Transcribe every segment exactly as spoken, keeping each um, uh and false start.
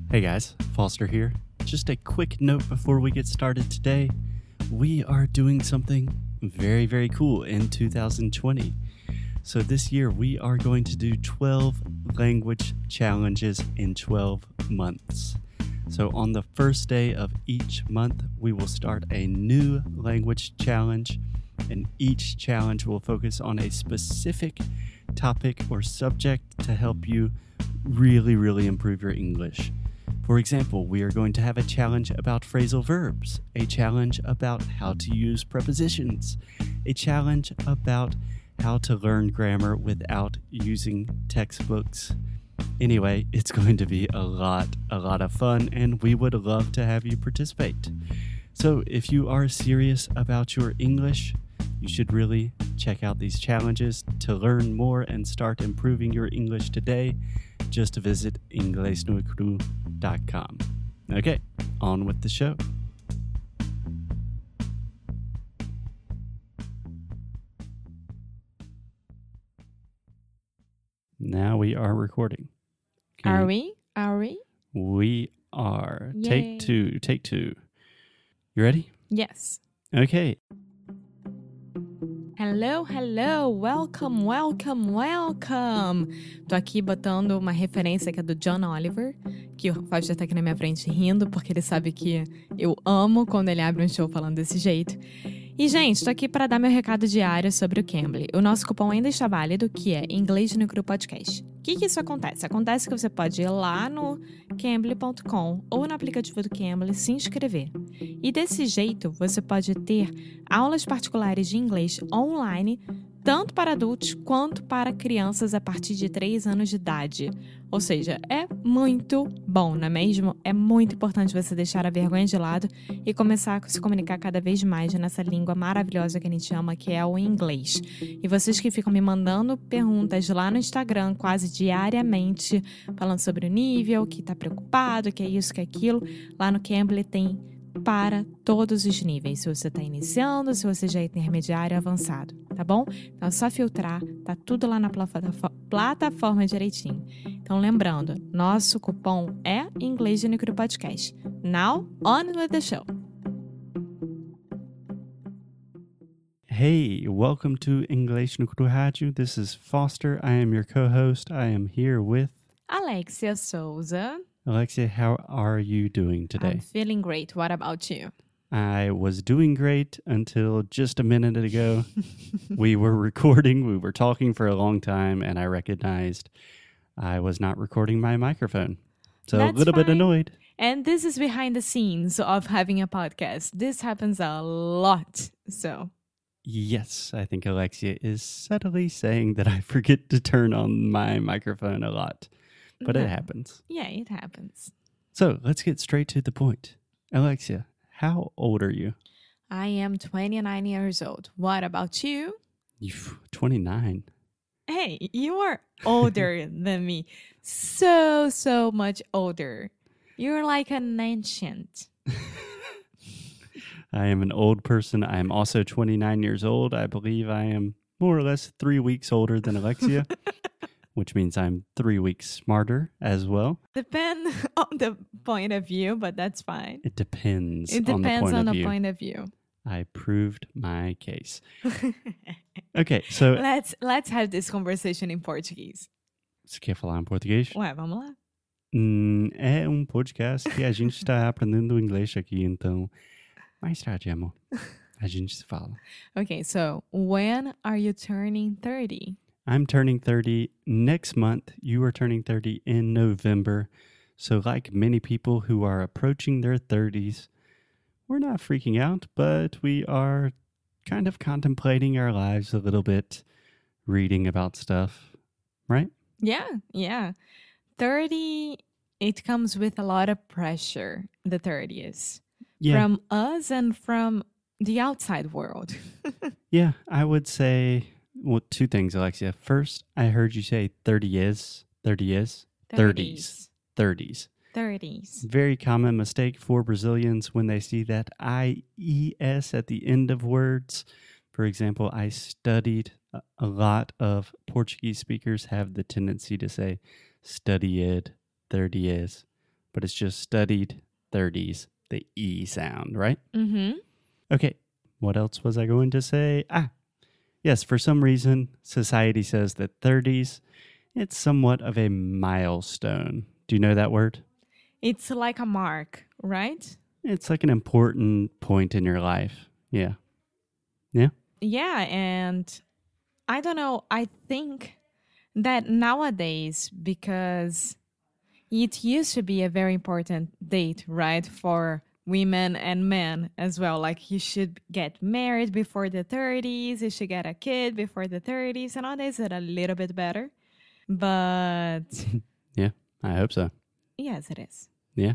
Hey guys, Foster here. Just a quick note before we get started today. We are doing something very, very cool in two thousand twenty. So this year we are going to do twelve language challenges in twelve months. So on the first day of each month, we will start a new language challenge, and each challenge will focus on a specific topic or subject to help you really, really improve your English. For example, we are going to have a challenge about phrasal verbs, a challenge about how to use prepositions, a challenge about how to learn grammar without using textbooks. Anyway, it's going to be a lot, a lot of fun, and we would love to have you participate. So if you are serious about your English, you should really check out these challenges. To learn more and start improving your English today, just visit inglés no cru dot com. Okay, on with the show. Now we are recording. Can Are you- we? Are we? We are. Yay. Take two. Take two. You ready? Yes. Okay. Hello, hello, welcome, welcome, welcome. Tô aqui botando uma referência que é do John Oliver, que o Fausto tá aqui na minha frente rindo, porque ele sabe que eu amo quando ele abre um show falando desse jeito. E, gente, tô aqui para dar meu recado diário sobre o Cambly. O nosso cupom ainda está válido, que é Inglês no Cru Podcast. O que que isso acontece? Acontece que você pode ir lá no cambly ponto com ou no aplicativo do Cambly se inscrever. E desse jeito, você pode ter aulas particulares de inglês online, tanto para adultos quanto para crianças a partir de três anos de idade. Ou seja, é muito bom, não é mesmo? É muito importante você deixar a vergonha de lado e começar a se comunicar cada vez mais nessa língua maravilhosa que a gente ama, que é o inglês. E vocês que ficam me mandando perguntas lá no Instagram quase diariamente, falando sobre o nível, que tá preocupado, que é isso, que é aquilo, lá no Cambly tem para todos os níveis, se você está iniciando, se você já é intermediário avançado, tá bom? Então é só filtrar, tá tudo lá na plataforma, plataforma direitinho. Então lembrando, nosso cupom é Inglês no Cru Podcast. Now, on with the show! Hey, welcome to Inglês no Cru Rádio. This is Foster. I am your co-host. I am here with Alexia Souza. Alexia. How are you doing today? I'm feeling great. What about you? I was doing great until just a minute ago. We were recording, we were talking for a long time, and I recognized I was not recording my microphone. So That's a little bit fine. annoyed. And this is behind the scenes of having a podcast. This happens a lot, so... Yes, I think Alexia is subtly saying that I forget to turn on my microphone a lot, but No. it happens. Yeah, it happens. So let's get straight to the point. Alexia, how old are you? I am twenty-nine years old. What about you? You twenty-nine. Hey, you are older than me. So, so much older. You're like an ancient. I am an old person. I am also twenty-nine years old. I believe I am more or less three weeks older than Alexia, which means I'm three weeks smarter as well. Depend on the point of view, but that's fine. It depends It on the depends point on of the view. point of view. I proved my case. Okay, so... let's let's have this conversation in Portuguese. Você quer falar em português? Ué, vamos lá. Hum, é um podcast que a gente está aprendendo inglês aqui, então... Mais tarde, amor. A gente se fala. Okay, so when are you turning thirty? I'm turning thirty next month. You are turning thirty in November. So like many people who are approaching their thirties, we're not freaking out, but we are kind of contemplating our lives a little bit, reading about stuff, right? Yeah, yeah. thirty, it comes with a lot of pressure, the thirties. Yeah. From us and from the outside world. Yeah, I would say, well, two things, Alexia. First, I heard you say thirty is, thirty is, thirties, thirties. thirties. Very common mistake for Brazilians when they see that I E S at the end of words. For example, I studied, a lot of Portuguese speakers have the tendency to say studied, thirty is, but it's just studied thirties, the E sound, right? Mm-hmm. Okay, what else was I going to say? Ah, yes, for some reason, society says that thirties, it's somewhat of a milestone. Do you know that word? It's like a mark, right? It's like an important point in your life. Yeah. Yeah? Yeah, and I don't know. I think that nowadays, because it used to be a very important date, right, for women and men as well. Like, you should get married before the thirties, you should get a kid before the thirties, and nowadays it's a little bit better. But Yeah, I hope so. yes, it is. Yeah.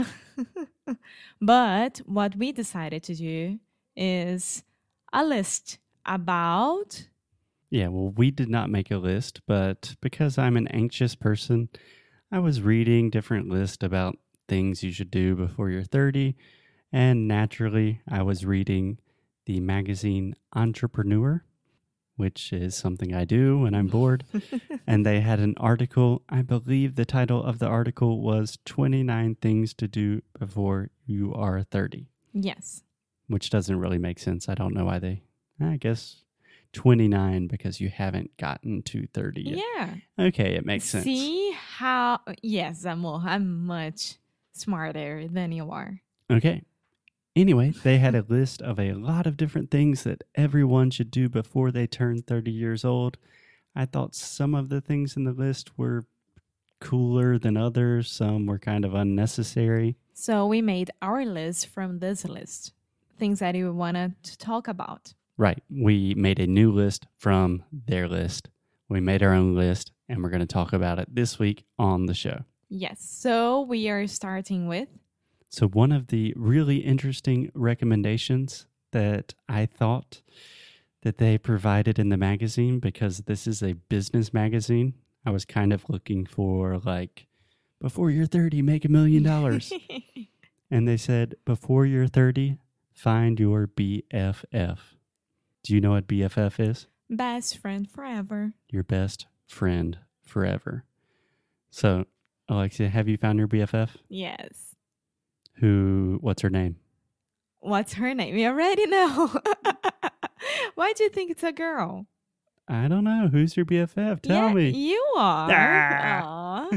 But what we decided to do is a list about. Yeah, well, we did not make a list, but because I'm an anxious person, I was reading different lists about things you should do before you're thirty, and naturally, I was reading the magazine Entrepreneur, which is something I do when I'm bored, and they had an article. I believe the title of the article was twenty-nine Things to Do Before You Are thirty, Yes. which doesn't really make sense. I don't know why they, I guess twenty-nine because you haven't gotten to thirty yet. Yeah. Okay, it makes sense. See how, yes, amor, I'm much smarter than you are. Okay. Anyway, they had a list of a lot of different things that everyone should do before they turn thirty years old. I thought some of the things in the list were cooler than others. Some were kind of unnecessary. So we made our list from this list, things that you wanted to talk about. Right. We made a new list from their list. We made our own list, and we're going to talk about it this week on the show. Yes. So we are starting with. So one of the really interesting recommendations that I thought that they provided in the magazine, because this is a business magazine, I was kind of looking for like, before you're thirty, make a million dollars. And they said, before you're thirty, find your B F F. Do you know what B F F is? Best friend forever. Your best friend forever. So, Alexia, have you found your B F F? Yes. Who, what's her name? What's her name? You already know. Why do you think it's a girl? I don't know. Who's your B F F? Tell yeah, me. You are. Ah.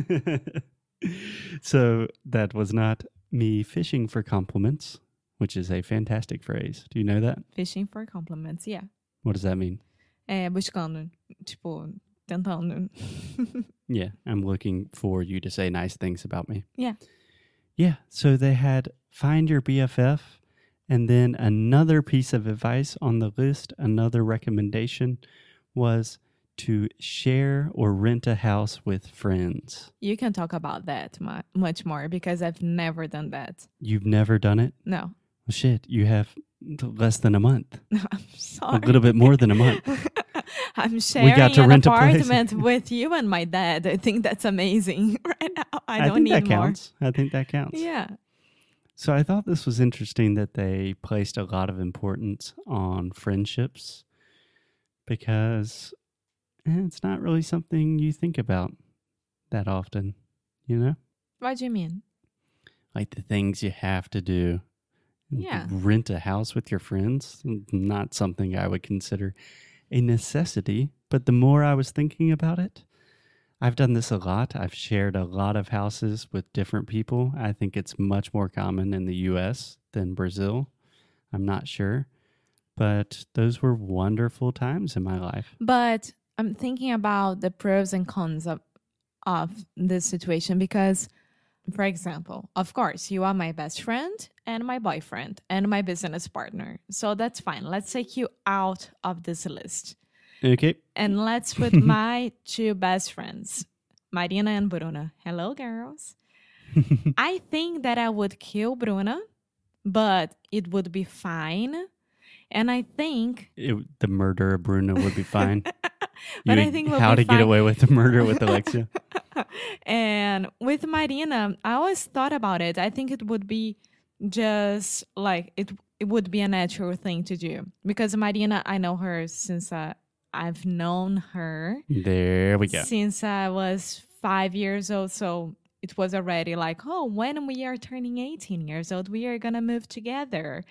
So that was not me fishing for compliments, which is a fantastic phrase. Do you know that? Fishing for compliments, yeah. What does that mean? É, buscando, tipo, tentando. Yeah, I'm looking for you to say nice things about me. Yeah. Yeah, so they had find your B F F, and then another piece of advice on the list, another recommendation was to share or rent a house with friends. You can talk about that mu- much more because I've never done that. You've never done it? No. Well, shit, you have less than a month. I'm sorry. A little bit more than a month. I'm sharing got to an rent a place. apartment with you and my dad. I think that's amazing right now. I don't think need that more. counts. I think that counts. Yeah. So I thought this was interesting that they placed a lot of importance on friendships, because eh, it's not really something you think about that often, you know? What do you mean? Like the things you have to do. Yeah. Rent a house with your friends, not something I would consider a necessity. But the more I was thinking about it, I've done this a lot. I've shared a lot of houses with different people. I think it's much more common in the U S than Brazil. I'm not sure. But those were wonderful times in my life. But I'm thinking about the pros and cons of, of this situation because, for example, of course, you are my best friend and my boyfriend and my business partner. So that's fine. Let's take you out of this list. Okay. And let's put my two best friends, Marina and Bruna. Hello, girls. I think that I would kill Bruna, but it would be fine. And I think... It, the murder of Bruno would be fine. But You- I think we'll How be to fine. get away with the murder with Alexia. And with Marina, I always thought about it. I think it would be just like it it would be a natural thing to do. Because Marina, I know her since uh, I've known her There we go. since I was five years old. So it was already like, oh, when we are turning eighteen years old, we are going to move together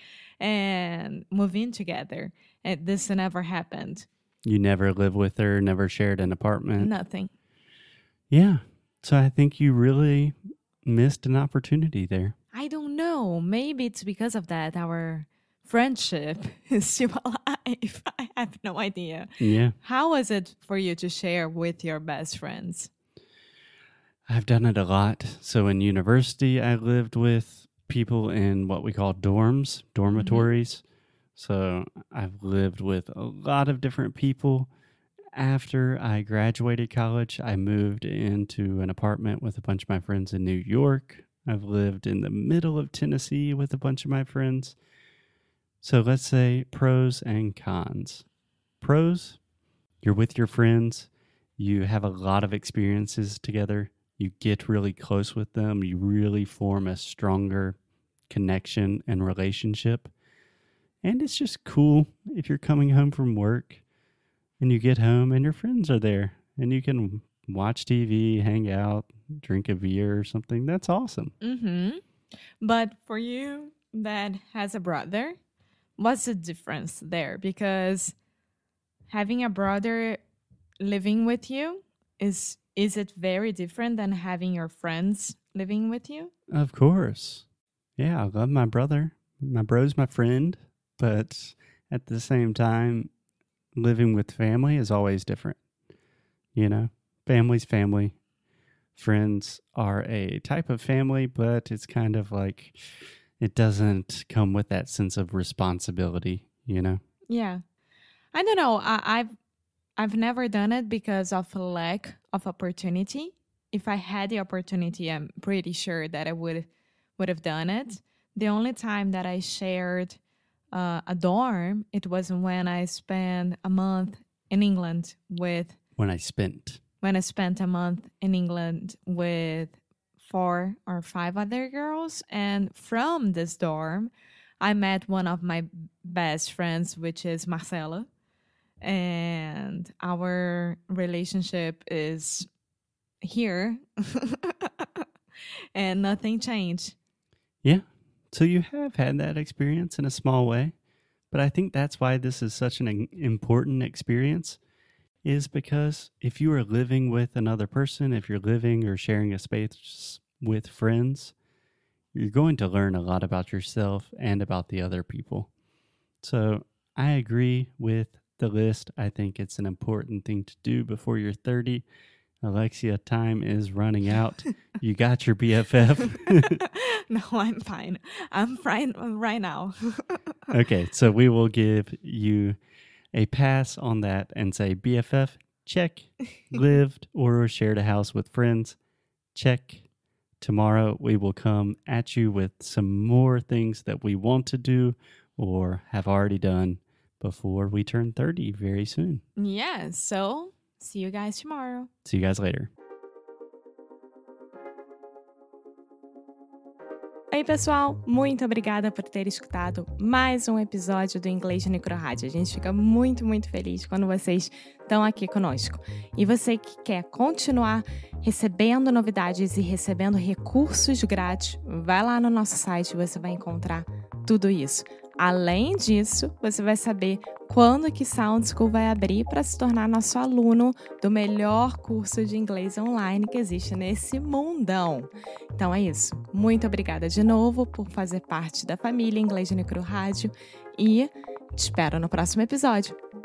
and move in together. And this never happened. You never lived with her, never shared an apartment. Nothing. Yeah. So I think you really missed an opportunity there. I don't know. Maybe it's because of that. Our friendship is still alive. I have no idea. Yeah. How was it for you to share with your best friends? I've done it a lot. So in university, I lived with people in what we call dorms, dormitories. Mm-hmm. So I've lived with a lot of different people. After I graduated college, I moved into an apartment with a bunch of my friends in New York. I've lived in the middle of Tennessee with a bunch of my friends. So let's say pros and cons. Pros, you're with your friends. You have a lot of experiences together. You get really close with them. You really form a stronger connection and relationship. And it's just cool if you're coming home from work and you get home and your friends are there and you can watch T V, hang out, drink a beer or something. That's awesome. Mm-hmm. But for you that has a brother, what's the difference there? Because having a brother living with you, is is it very different than having your friends living with you? Of course. Yeah, I love my brother. My bro's my friend. But at the same time, living with family is always different. You know, family's family. Friends are a type of family, but it's kind of like it doesn't come with that sense of responsibility, you know? Yeah. I don't know. I, I've I've never done it because of a lack of opportunity. If I had the opportunity, I'm pretty sure that I would would have done it. The only time that I shared uh, a dorm, it was when I spent a month in England with... When I spent. When I spent a month in England with four or five other girls. And from this dorm, I met one of my best friends, which is Marcela. And our relationship is here. And nothing changed. Yeah. So you have had that experience in a small way. But I think that's why this is such an important experience, is because if you are living with another person, if you're living or sharing a space with friends, you're going to learn a lot about yourself and about the other people. So I agree with the list. I think it's an important thing to do before you're thirty. Alexia, time is running out. You got your B F F? No, I'm fine. I'm fine right now. Okay, so we will give you a pass on that and say B F F, check. Lived or shared a house with friends, check. Tomorrow we will come at you with some more things that we want to do or have already done before we turn thirty very soon. Yeah, so see you guys tomorrow. See you guys later. Oi, pessoal! Muito obrigada por ter escutado mais um episódio do Inglês no Micro Rádio. A gente fica muito, muito feliz quando vocês estão aqui conosco. E você que quer continuar recebendo novidades e recebendo recursos grátis, vai lá no nosso site e você vai encontrar tudo isso. Além disso, você vai saber quando que Sound School vai abrir para se tornar nosso aluno do melhor curso de inglês online que existe nesse mundão. Então é isso. Muito obrigada de novo por fazer parte da família Inglês no Micro Rádio e te espero no próximo episódio.